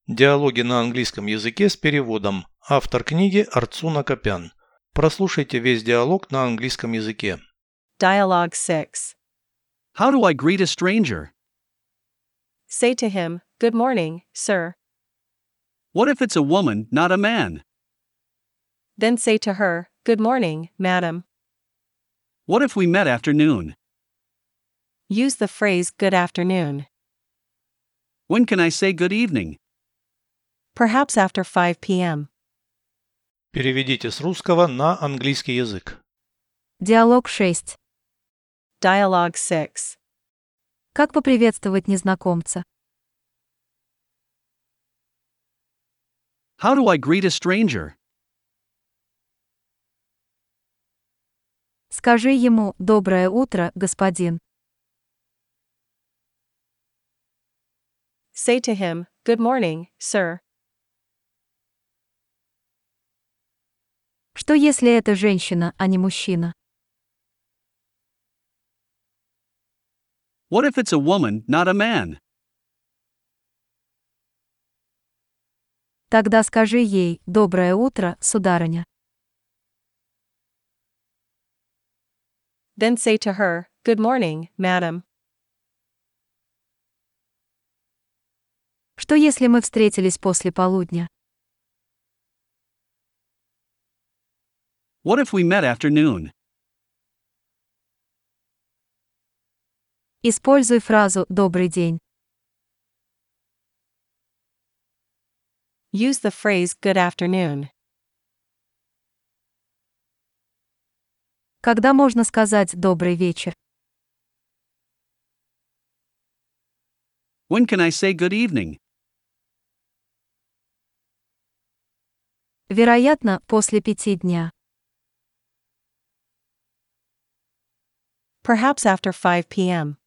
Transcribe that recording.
Диалоги на английском языке с переводом. Автор книги Арцуна Копян. Прослушайте весь диалог на английском языке. Dialogue 6. How do I greet a stranger? Say to him, "Good morning, sir." What if it's a woman, not a man? Then say to her, "Good morning, madam." What if we met after noon? Use the phrase good afternoon. When can I say good evening? Perhaps after 5 p.m. Переведите с русского на английский язык. Диалог 6. Dialogue 6. Как поприветствовать незнакомца? How do I greet a stranger? Скажи ему «Доброе утро, господин». Say to him, "Good morning, sir." Что если это женщина, а не мужчина? What if it's a woman, not a man? Тогда скажи ей «Доброе утро, сударыня». Then say to her, "Good morning, madam." Что если мы встретились после полудня? What if we met after noon? Используй фразу «Добрый день». Use the phrase good afternoon. Когда можно сказать «Добрый вечер»? When can I say good evening? Вероятно, после 5 дня. Perhaps after 5 p.m.